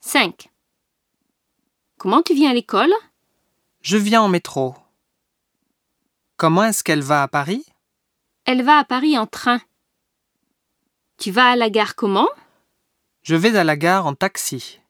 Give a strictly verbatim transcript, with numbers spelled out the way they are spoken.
cinq. Comment tu viens à l'école? Je viens en métro. Comment est-ce qu'elle va à Paris? Elle va à Paris en train. Tu vas à la gare comment? Je vais à la gare en taxi.